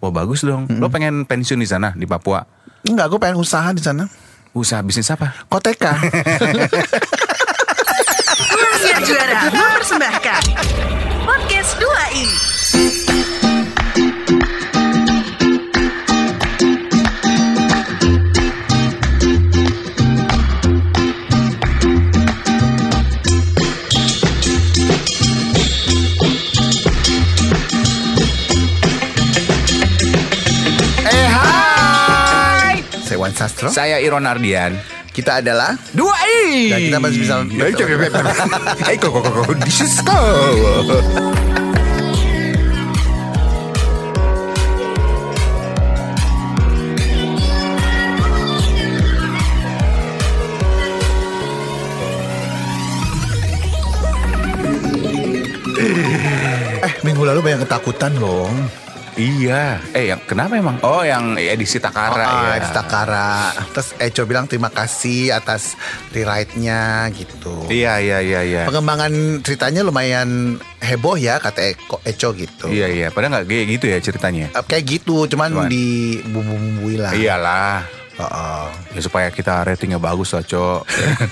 Wah bagus dong. Lo pengen pensiun di sana di Papua? Enggak, gue pengen usaha di sana. Usaha bisnis apa? Koteka. Rahasia Juara mempersembahkan Podcast 2i. Saya Wan Sastro. Saya Iron Ardian. Kita adalah 2i. Dan kita masih bisa This is go. minggu lalu banyak ketakutan loh. Iya. Yang kenapa emang? Oh, yang edisi Takara ya. Edisi Takara. Terus Eco bilang terima kasih atas rewrite-nya gitu. Iya. Pengembangan ceritanya lumayan heboh ya kata Eco gitu. Iya. Padahal nggak kayak gitu ya ceritanya. Kayak gitu, cuman di bumbu-bumbui lah. Iyalah. Ya supaya kita ratingnya bagus lah, Cok.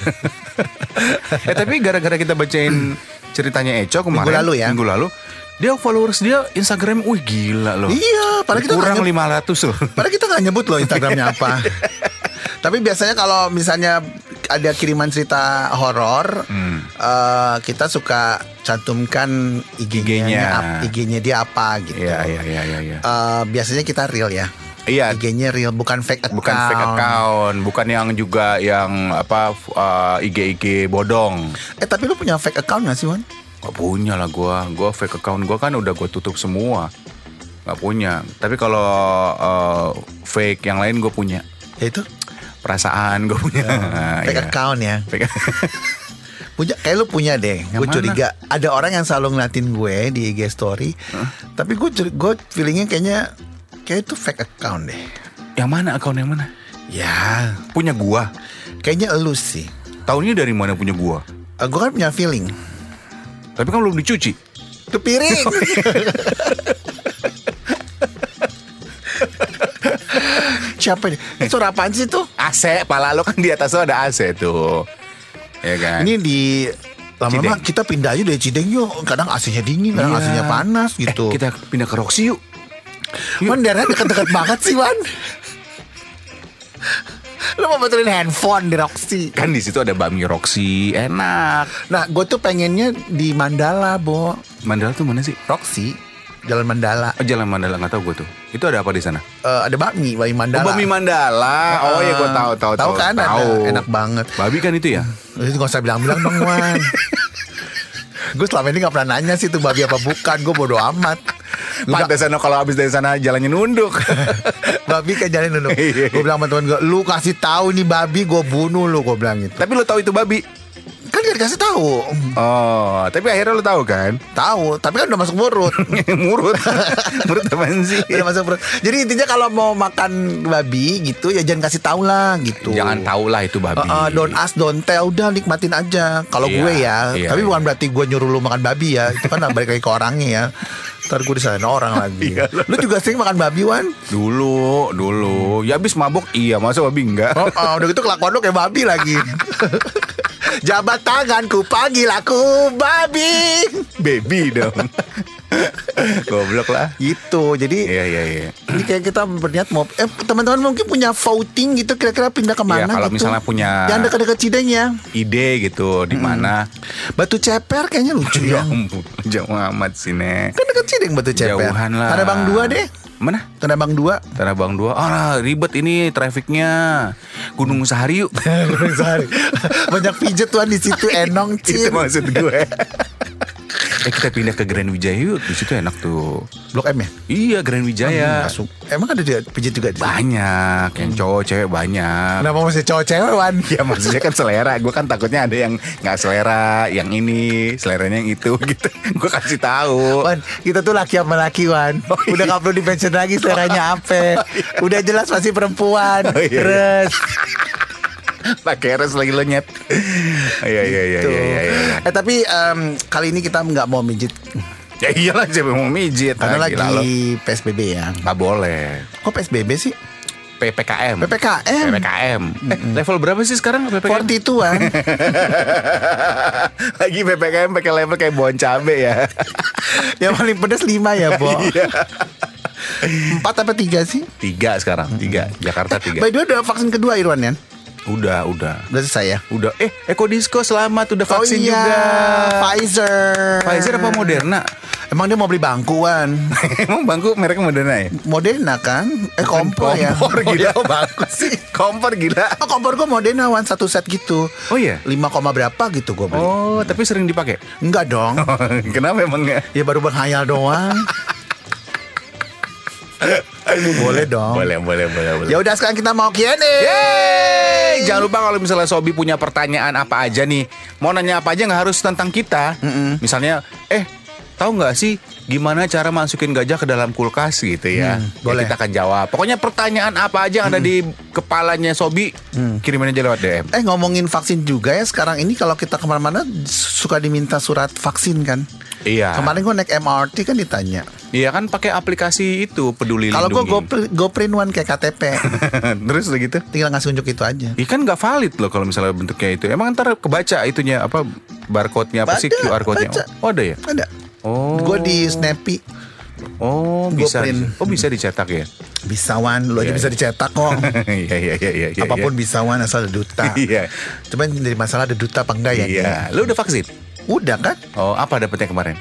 Tapi gara-gara kita bacain ceritanya Eco kemarin minggu lalu dia followers dia Instagram, wih gila loh. Iya, padahal kita kurang 500 loh. Padahal kita nggak nyebut loh Instagramnya apa. Tapi biasanya kalau misalnya ada kiriman cerita horor, kita suka cantumkan IG-nya dia apa gitu. Iya. Biasanya kita real ya. Iya. IG-nya real, bukan fake account. Bukan fake account, bukan yang juga yang IG bodong. Tapi lu punya fake account gak sih, Wan? Gak punya lah gue fake account gue kan udah gue tutup semua. Gak punya. Tapi kalau fake yang lain gue punya. Itu? Perasaan gue punya. Fake account ya. Punya, kayak lu punya deh. Gue curiga ada orang yang selalu ngeliatin gue di IG story. Tapi gue feelingnya kayak itu fake account deh. Yang mana account yang mana? Ya punya gue. Kayaknya elu sih. Tahunya dari mana punya gue? Gue kan punya feeling. Tapi kan belum dicuci. Itu piring. Siapa nih? Suara apaan sih tuh? AC, pala lo kan di atas lo ada AC tuh. Ya kan? Ini di lama-lama kita pindah aja dari Cideng yuk. Kadang AC-nya dingin, kadang AC-nya panas gitu. Kita pindah ke Roxy yuk. Wan, daerahnya deket-deket banget sih, Wan. Lu mau betulin handphone di Roxy. Kan di situ ada bakmi Roxy, enak. Nah, gue tuh pengennya di Mandala, Bo. Mandala tuh mana sih? Roxy, Jalan Mandala. Oh, Jalan Mandala, nggak tahu gue tuh. Itu ada apa di sana? Ada bakmi Mandala. Oh, bakmi Mandala. Oh ya, gue tahu. Tahu kan? Tahu. Enak banget. Babi kan itu ya? Itu nggak usah bilang-bilang dong, Wan. Gue selama ini gak pernah nanya sih itu babi apa bukan. Gue bodo amat. Pantesan kalau habis dari sana jalannya nunduk. Babi kan jalan nunduk. Gue bilang sama temen gue, lu kasih tahu nih babi, gue bunuh lu. Gue bilang gitu. Tapi lu tahu itu babi? Kan gak dikasih tahu. Oh, tapi akhirnya lu tahu kan? Tahu, tapi kan udah masuk mulut. Murut apaan sih? Udah masuk mulut. Jadi intinya kalau mau makan babi gitu ya jangan kasih tahu lah gitu. Jangan tahu lah itu babi. Don't ask, don't tell, udah nikmatin aja. Kalau gue ya, tapi bukan berarti gue nyuruh lu makan babi ya. Itu kan balik lagi ke orangnya ya. Ntar gue disalahin orang lagi. Lu juga sering makan babi, Wan? Dulu. Ya abis mabuk iya, masa babi enggak? Udah gitu kelakuan lu kayak babi lagi. Jabat tanganku, panggil aku babi. Baby dong. Goblok lah. Gitu. Jadi Iya. ini kayak kita berniat mau teman-teman mungkin punya voting gitu, kira-kira pindah kemana kalau gitu. misalnya punya yang dekat-dekat Cideng ya, ide gitu di mana. Batu Ceper kayaknya lucu ya. Jauh amat sih, Nek. Kan dekat Cideng Batu Ceper. Jauhan lah. Tanah Abang 2 deh. Mana? Tanah Abang 2. Tanah Abang 2. Ribet ini trafiknya. Gunung Sahari yuk. Gunung Sahari. Banyak pijet tuan di situ, enong Itu maksud gue. Kita pindah ke Grand Wijaya yuk. Di situ enak tuh. Blok M ya? Iya, Grand Wijaya. Emang ada pijet juga di situ? Banyak. Yang cowok cewek banyak. Kenapa masih cowok cewek, Wan? Ya maksudnya kan selera. Gue kan takutnya ada yang gak selera, yang ini seleranya yang itu gitu. Gue kasih tahu. Wan, kita tuh laki sama laki, Wan. Udah gak perlu di-mention lagi seleranya apa. Udah jelas masih perempuan. Terus pakai res lagi lo nyet. Iya. Tapi kali ini kita nggak mau mijit Ya iyalah, siapa yang mau mijit? Karena Gila lo. lagi PSBB ya. Nggak boleh. Kok PSBB sih? PPKM. PPKM. Level berapa sih sekarang PPKM? 42-an. Lagi PPKM pakai level kayak bon cabe ya. Yang paling pedas 5 ya, Bo. Iya. 4 apa 3 sih? 3 sekarang, 3. Jakarta 3. By the way, udah vaksin kedua Irwan ya? Udah. Udah selesai ya? Udah. Eko Disco selamat udah vaksin juga. Pfizer apa Moderna? Emang dia mau beli bangkuan. Emang bangku mereknya Moderna ya? Moderna kan? Kompor ya. Kompor gila, bagus sih. Kompor gila. Kompor gue Moderna one satu set gitu. Oh iya? 5, berapa gitu gue beli. Oh, tapi sering dipakai? Enggak dong. Kenapa emangnya? Ya baru berkhayal doang. Boleh dong. Boleh. Ya udah sekarang kita mau Q&A. Yeay! Jangan lupa kalau misalnya Sobi punya pertanyaan apa aja nih, mau nanya apa aja nggak harus tentang kita. Misalnya, tahu nggak sih gimana cara masukin gajah ke dalam kulkas gitu ya? Boleh. Ya, kita akan jawab. Pokoknya pertanyaan apa aja yang ada di kepalanya Sobi, kirimin aja lewat DM. Ngomongin vaksin juga ya, sekarang ini kalau kita kemana-mana suka diminta surat vaksin kan. Iya. Kemarin gue naik MRT kan ditanya. Iya kan pakai aplikasi itu Peduli Kalau Lindungi. gue go print one kayak KTP. Terus udah gitu? Tinggal ngasih unjuk itu aja. Iya kan nggak valid loh kalau misalnya bentuknya itu. Emang ntar kebaca itunya apa barcode-nya apa sih, QR code-nya? baca. Oh ada ya? Ada. Oh. Gue di Snappy. Oh bisa. print. Oh bisa dicetak ya? Bisa Wan, lu aja Iya, bisa iya. dicetak kok. Iya. Apapun bisa Wan asal ada duta. Iya. Cuman jadi masalah ada duta apa enggak ya? Iya. Lu udah vaksin? Udah kan? Oh apa dapetnya kemarin?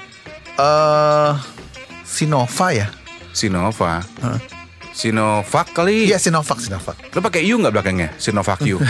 Sinova ya? Sinova. Sinovac kali. Iya Sinovac. Lu pakai U nggak belakangnya? Sinovac U.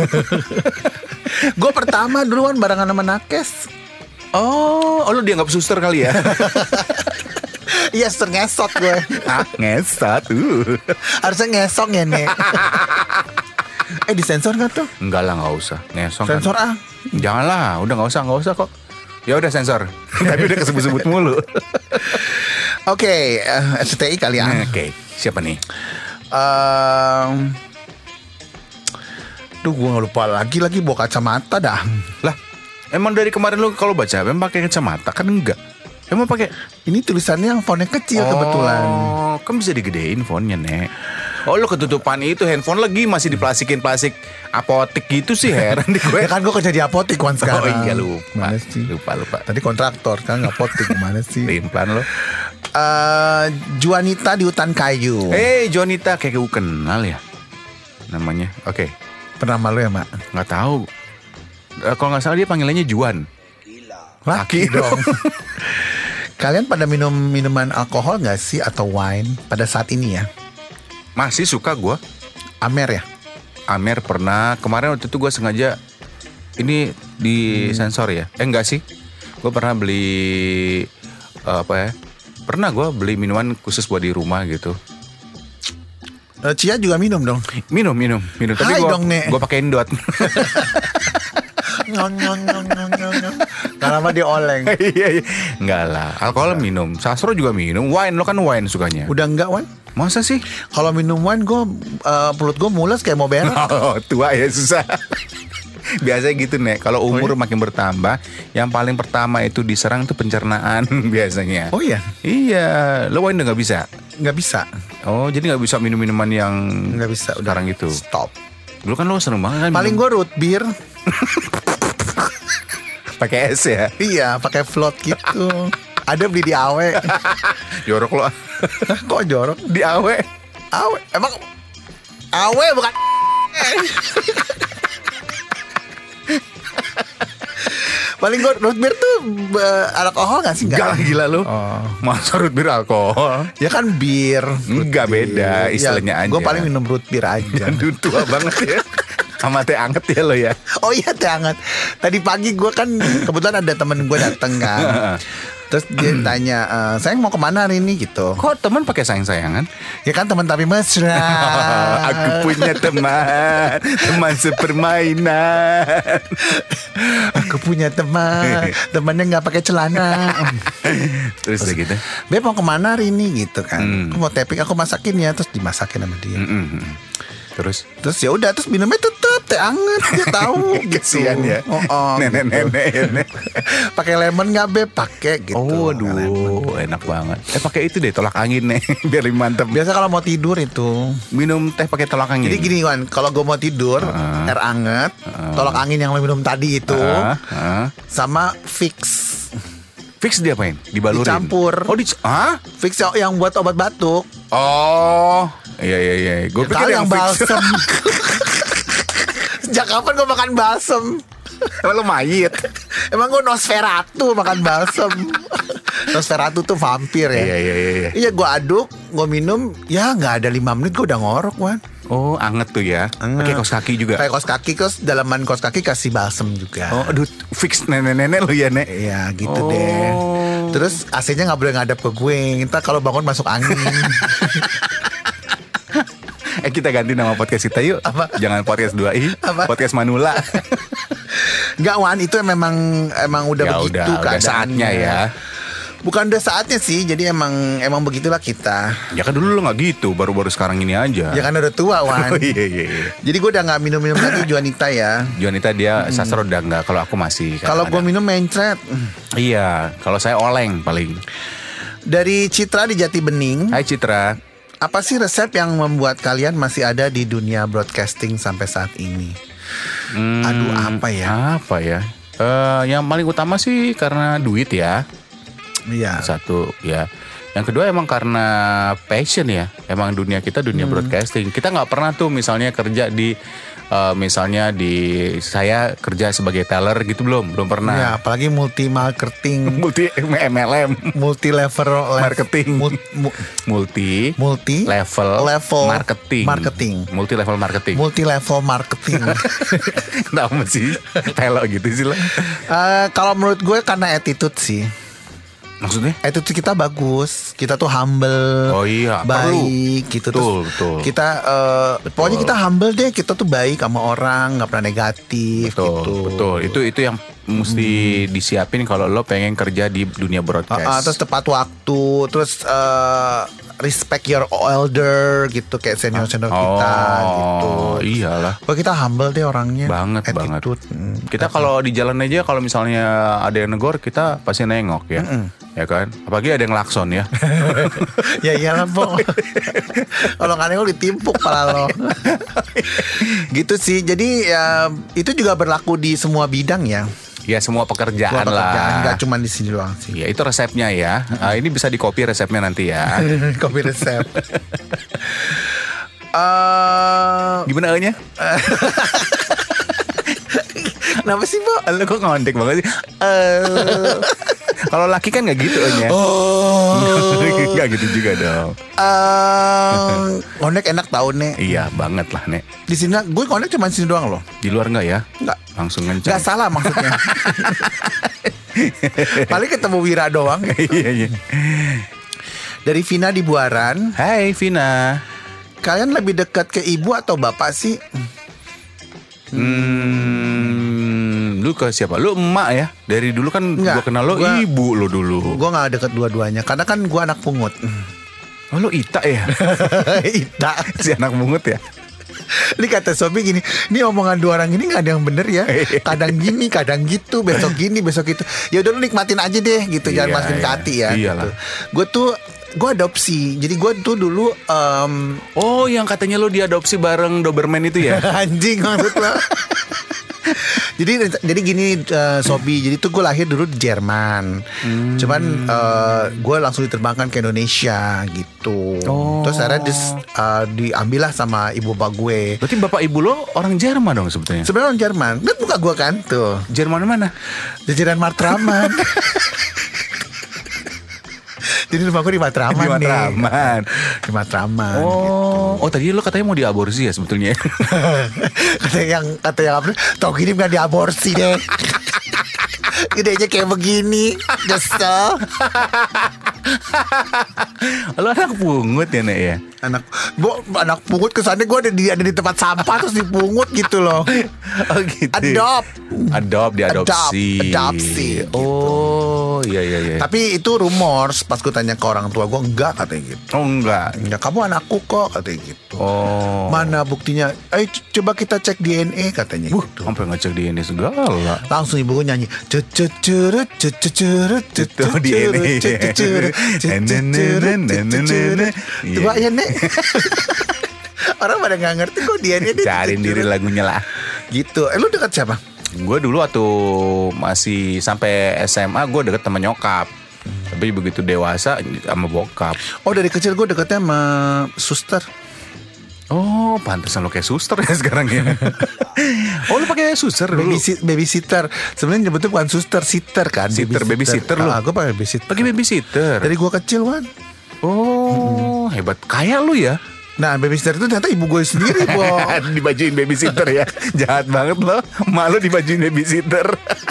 Gue pertama duluan barengan sama Nakes. Oh lu dianggap suster kali ya? Iya ngesot gue. Ngesat. Harusnya ngesong ya Nek. Disensor gak tuh? Enggak lah, nggak usah. Ngesong Sensor kan. Janganlah, udah nggak usah kok. Ya udah sensor. Tapi udah kesebut-sebut mulu. Oke, STI kali ya. Oke, siapa nih? Duh gue gak lupa lagi bawa kacamata dah. Lah, emang dari kemarin lu kalau baca emang pakai kacamata kan enggak? Emang pakai? Ini tulisannya yang fontnya kecil kebetulan. Oh, kan bisa digedein fontnya, Nek. Oh, lu ketutupan itu handphone lagi masih diplastikin plastik apotik gitu sih, heran di gue. Ya kan gue kerja di apotik kan sekarang. Oh iya lupa. Mana sih? Lupa. Tadi kontraktor kan apotik gimana sih? Implan lo. Juanita di hutan kayu. Jonita kayak gue kenal ya namanya. Oke. Pernah malu ya Mak? Nggak tahu. Kalau nggak salah dia panggilannya Juan. Laki dong. Kalian pada minum minuman alkohol nggak sih atau wine pada saat ini ya? Masih suka gue. Amer ya? Amer pernah. Kemarin waktu itu gue sengaja ini di sensor ya. Enggak sih. Gue pernah beli apa ya? Pernah gue beli minuman khusus buat di rumah gitu. Cia juga minum dong. Minum. Tapi Hai dong, Nek. gue pakein dot. Gak lama dia oleng. Iya. Enggak lah. Alkohol minum. Sastro juga minum. Wine lo kan wine sukanya. Udah enggak Wan? Masa sih? Kalau minum wine gue perut gue mules kayak mau berak. Oh, tua ya susah. Biasanya gitu Nek. Kalau umur makin bertambah, yang paling pertama itu diserang tuh pencernaan biasanya. Oh iya? Iya. Lo wine udah gak bisa? Nggak bisa. Oh jadi gak bisa minum minuman yang Nggak bisa. sekarang itu. Stop. Dulu kan lo seneng banget kan Paling gue root beer. pakai es ya. Iya pakai float gitu. Ada beli di Awe. Jorok lo. Kok jorok? Di Awe. Awe. Emang Awe bukan. Paling gue root beer tuh alkohol gak sih? Enggak lah gila lu. Oh. Masa root beer alkohol? Ya kan bir. Enggak beda istilahnya aja. Gue paling minum root beer aja. Aduh tua banget ya. Sama teh anget ya lo ya. Oh iya teh hangat. Tadi pagi gue kan kebetulan ada temen gue dateng kan. Terus dia tanya, sayang mau kemana hari ini gitu. Kok teman pakai sayang-sayangan? Ya kan teman tapi mesra. Aku punya teman sepermainan. Aku punya teman, temannya nggak pakai celana. Terus udah gitu. Beb mau kemana hari ini gitu kan. Aku mau tapping, aku masakin ya. Terus dimasakin sama dia. Terus Terus ya udah, terus minumnya tetep teh anget dia tahu gitu. Kesian ya. Nenek-nenek ya, Nek. Pakai lemon nggak Beb? Pakai gitu. Oh, aduh, enak banget. Pakai itu deh, tolak angin nih, biar lebih mantep. Biasa kalau mau tidur itu Minum teh pakai tolak angin. jadi gini Wan, kalau gue mau tidur air anget, tolak angin yang lo minum tadi itu sama fix Fix dia apain? Dibalurin. dicampur. Oh, Fix yang buat obat batuk. Oh, iya. Gue pikir yang fix. balsem. Sejak kapan gue makan balsem? Emang lu mayit. Emang gue Nosferatu makan balsem. Nosferatu tuh vampir ya. Iya. Iya gue aduk, gue minum, ya nggak ada 5 menit gue udah ngorok Wan. Oh, anget tuh ya. Pakai kaos kaki juga. Kayak kaos kaki, terus dalaman kaos kaki kasih balsem juga. Oh, aduh, fix nenek-nenek lu ya, Nek. Iya gitu deh. Terus AC-nya nggak boleh ngadap ke gue. Ntar kalau bangun masuk angin. Kita ganti nama podcast kita yuk. Apa? Jangan podcast 2i, Apa? podcast Manula. Nggak Wan, itu memang udah Ya begitu udah keadaannya. saatnya ya. Bukan udah saatnya sih, jadi emang begitulah kita. Ya kan dulu lu gak gitu, baru-baru sekarang ini aja. Ya kan udah tua Wan. Oh, iya. Jadi gue udah nggak minum lagi Juanita ya. Juanita dia sastra udah enggak, kalau aku masih. Kalau gue minum mencret. Iya, kalau saya oleng paling. Dari Citra di Jati Bening. Hai Citra. Apa sih resep yang membuat kalian masih ada di dunia broadcasting sampai saat ini? Aduh apa ya? Apa ya? Yang paling utama sih karena duit ya. Iya. Satu ya. Yang kedua emang karena passion ya. Emang dunia kita dunia broadcasting. Kita nggak pernah tuh misalnya kerja di misalnya saya kerja sebagai teller gitu belum pernah. Ya, apalagi multi marketing, Multi MLM, multi level marketing, multi level marketing, multi level marketing. multi level marketing. Kenapa sih telo gitu sih lah? Kalau menurut gue karena attitude sih. Maksudnya? Attitude kita bagus, kita tuh humble, Oh iya, baik gitu. Betul. Kita pokoknya kita humble deh, kita tuh baik sama orang, nggak pernah negatif gitu. Betul. Itu yang mesti disiapin kalau lo pengen kerja di dunia broadcast. Terus tepat waktu, terus respect your elder gitu, kayak senior kita gitu. Iyalah. Pokoknya kita humble deh orangnya. Banget. Attitude. Kita kalau di jalan aja kalau misalnya ada yang negor kita pasti nengok ya. Ya kan? Apalagi ada yang lakson ya. Ya iyalah po. Kalau nggak nengok ditimpuk pala lo. Gitu sih. Jadi ya, itu juga berlaku di semua bidang ya. Ya semua pekerjaan lah. Nggak cuma di sini doang sih. Ya itu resepnya ya. Ini bisa di copy resepnya nanti ya. Kopi resep. Gimana nya? Kenapa sih po? Lo kok ngondek banget sih? Kalau laki kan nggak gitu nya. Nggak gitu juga dong. Ngondek enak tau Nek. Iya banget lah Nek. Di sini gue ngondek cuma di sini doang loh. Di luar nggak ya? Nggak. Langsung ngencang. Gak salah maksudnya. Paling ketemu Wira doang. Iya. Dari Vina di Buaran. Hai Vina. Kalian lebih dekat ke ibu atau bapak sih? Lu ke siapa? Lu emak ya? Dari dulu kan Nggak, gua kenal lo ibu lo dulu. Gue gak deket dua-duanya. Karena kan gue anak pungut. Oh lu Ita ya? Ita. Si anak mungut ya? Ini kata Sobi gini, ini omongan dua orang ini gak ada yang bener ya. Kadang gini, kadang gitu, besok gini, besok gitu. Ya udah lu nikmatin aja deh gitu. Jangan Iya, masukin ke iya. hati ya Iyalah. gitu. Gue adopsi. Jadi gue tuh dulu Oh yang katanya lo diadopsi bareng Doberman itu ya? anjing maksud lo. Jadi gini Sobi. Jadi tuh gue lahir dulu di Jerman. Cuman gue langsung diterbangkan ke Indonesia gitu. Terus akhirnya diambil lah sama ibu bapak gue. Berarti bapak ibu lo orang Jerman dong sebetulnya? Sebenarnya orang Jerman. Lihat muka gue kan tuh. Jerman mana? Jajaran Matraman. Jadi rumah gue di Matraman Di nih. Matraman. Di Matraman. Oh tadi lo katanya mau diaborsi ya sebetulnya? kata yang apa? Tau gini bukan diaborsi deh. Gedenya kayak begini. Nyesel. Lo anak pungut ya Nek ya? Anak pungut kesannya gue ada di tempat sampah terus dipungut gitu loh. Oh gitu. Diadopsi Adopsi. gitu. Oh iya. Tapi itu rumors. Pas gue tanya ke orang tua gue, enggak katanya gitu. Oh enggak. Ya kamu anakku kok katanya gitu. Oh. Mana buktinya? Ayo coba kita cek DNA katanya gitu. Sampai ngecek DNA segala. Langsung ibu gue nyanyi Coba ya Nek. Orang pada gak ngerti kok DNA. Cariin diri lagunya lah. Gitu. Lu dekat siapa? Gue dulu waktu masih sampai SMA gue deket sama nyokap. Tapi begitu dewasa sama bokap. Oh dari kecil gue deketnya sama suster. Oh, pantesan lo kayak suster ya sekarang ya. Oh, lu pakai suster dulu. Babysitter. Sebenarnya nyebutnya bukan suster, sitter kan. Babysitter lu. Gue pakai babysitter. Pakai babysitter. Dari gue kecil, Wan. Oh, hebat. Kayak lu ya. Nah, babysitter itu ternyata ibu gue sendiri, Bo. Dibajuin babysitter ya. Jahat banget lo. Malu dibajuin babysitter.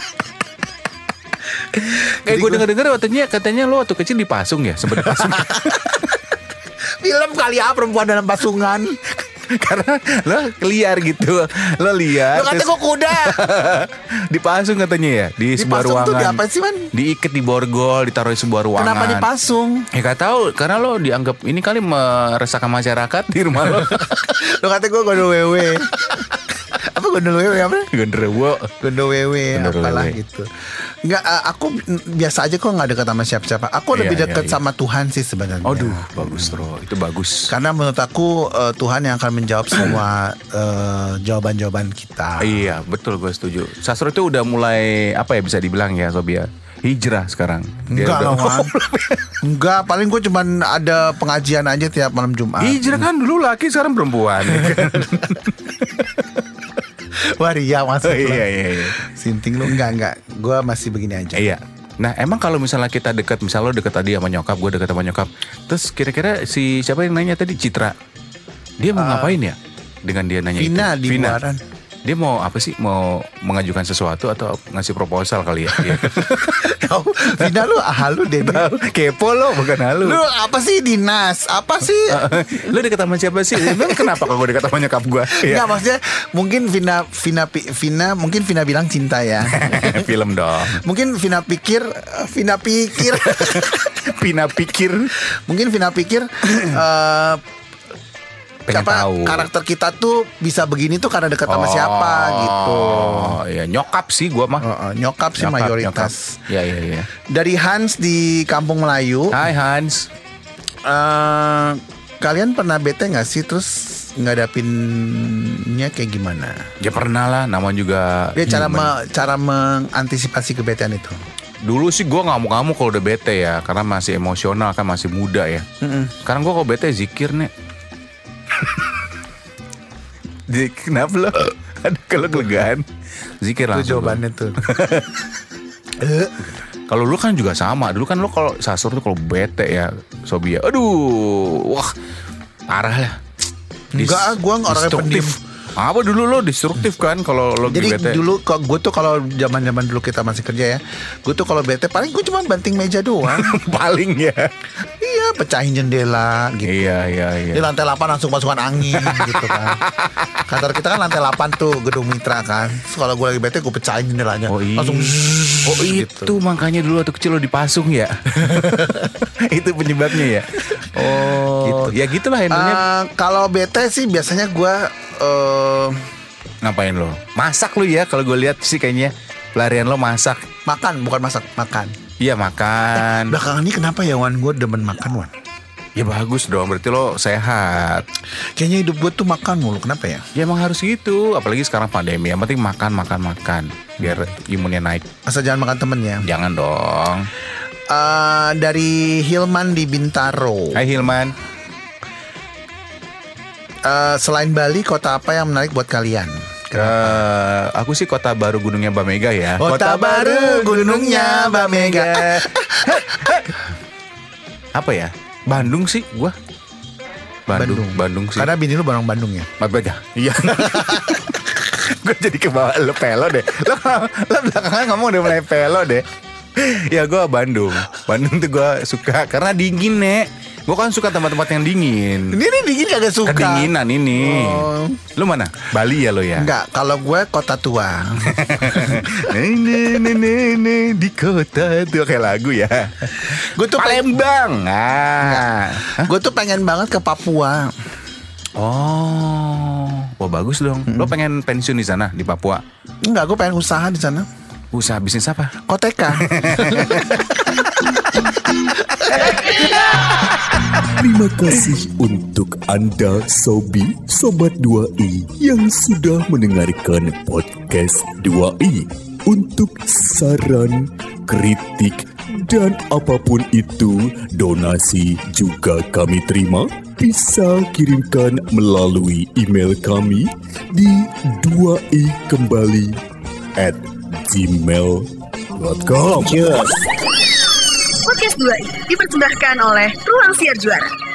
Gue denger katanya lo waktu kecil dipasung ya, sempat dipasung. Film kali ya perempuan dalam pasungan. Karena lo liar gitu. Lo liar. Lo kata gue kuda. Dipasung katanya ya di sebuah ruangan. Dipasung tuh diapain sih, Man? Diikat di borgol, ditaruh di sebuah ruangan. Kenapa dipasung? Ya gak tahu, karena lo dianggap ini kali meresahkan masyarakat di rumah lo. Lo kata gue gondol wewe. Apa gondol wewe apa? Gondol wewe apalah gitu. Enggak, aku biasa aja kok gak dekat sama siapa-siapa. Aku lebih dekat sama Tuhan sih sebenarnya. Aduh, bagus bro, itu bagus. Karena menurut aku Tuhan yang akan menjawab semua jawaban-jawaban kita. Iya, betul, gue setuju. Sastro itu udah mulai apa ya bisa dibilang ya, Sob ya, hijrah sekarang. Enggak lah, Man. Enggak, paling gue cuman ada pengajian aja tiap malam Jumat. Hijrah kan dulu laki, sekarang perempuan. Waria masuk. Iya. Sinting lu enggak. Gue masih begini aja. Iya. Nah emang kalau misalnya kita dekat, misalnya lo dekat tadi sama nyokap, gue dekat sama nyokap, terus kira-kira si siapa yang nanya tadi, Citra, dia mau ngapain ya? Dengan dia nanya Vina itu. di Buaran. Dia mau apa sih? Mau mengajukan sesuatu atau ngasih proposal kali ya? Vina lu halu deh. Kepo lo, bukan halu. Lu apa sih dinas? Apa sih? Lu dekat sama siapa sih? Emang kenapa kalau gue dekat sama nyokap gue? Enggak, maksudnya mungkin Vina mungkin Vina bilang cinta ya. Film dong. Mungkin Vina pikir mungkin Vina pikir pengen tahu karakter kita tuh bisa begini tuh karena dekat sama siapa gitu. Oh iya, nyokap sih gua mah. Nyokap sih mayoritas. Iya. Dari Hans di Kampung Melayu. Hai Hans. Kalian pernah bete gak sih? Terus ngadapinnya kayak gimana? Ya pernah lah, nama juga. Ya cara mengantisipasi kebetean itu. Dulu sih gue ngamuk-ngamuk kalau udah bete ya, karena masih emosional kan, masih muda ya. Sekarang gue kalau bete zikir nih. Kenapa lo? Ada kalau kelegaan zikir langsung. Itu jawabannya tuh. Kalau lu kan juga sama. Dulu kan lu kalau sasur tuh kalau bete ya, Sobia. Aduh, wah parah lah. Enggak, gue orangnya pendiam. Apa dulu lo destruktif kan kalau lo jadi bete? Dulu gue tuh kalau zaman dulu kita masih kerja ya, gue tuh kalau bete paling gue cuma banting meja doang. Paling ya. Iya, pecahin jendela gitu. Iya. Di lantai 8 langsung masukan angin gitu kan. Kantor kita kan lantai 8 tuh, gedung Mitra kan. Terus kalau gue lagi bete gue pecahin jendelanya. Langsung gitu. Itu makanya dulu waktu kecil lo dipasung ya. Itu penyebabnya ya. Oh, gitu. Ya gitulah handlenya. Kalau bete sih biasanya gue ngapain lo? Masak lo ya, kalau gue lihat sih kayaknya pelarian lo masak. Makan, bukan masak, makan. Iya makan. Belakangan ini kenapa ya, Wan? Gue demen makan, Wan. Ya bagus dong, berarti lo sehat. Kayaknya hidup gue tuh makan mulu, kenapa ya? Ya emang harus gitu, apalagi sekarang pandemi. Yang penting makan. Biar imunnya naik. Asal jangan makan temen ya. Jangan dong. Dari Hilman di Bintaro. Hai Hilman. Selain Bali, kota apa yang menarik buat kalian? Aku sih Kota Baru Gunungnya Mbak Mega ya. Kota Baru Gunungnya Mbak Mega. Apa ya? Bandung sih gua. Bandung sih. Karena bini lu orang Bandung ya. Mbak Mega. Iya. Gue jadi kebawa lo pelo deh. Lo belakangan ngomong udah mulai pelo deh. Ya gue Bandung tuh gue suka karena dingin nek. Gue kan suka tempat-tempat yang dingin. Ini dingin kagak suka. Kedinginan ini. Oh. Lu mana? Bali ya lo ya? Enggak, kalau gue kota tua. Nenek di kota itu kayak lagu ya. Gue tuh Palembang. Gue tuh pengen banget ke Papua. Oh, wah bagus dong. Lo pengen pensiun di sana di Papua? Enggak, gue pengen usaha di sana. Usaha bisnis apa? Koteka. Terima kasih untuk Anda Sobi Sobat 2i yang sudah mendengarkan podcast 2i. Untuk saran, kritik, dan apapun itu, donasi juga kami terima. Bisa kirimkan melalui email kami di 2ikembali@gmail.com. Podcast 2i dipersembahkan oleh Ruang Siar Juara.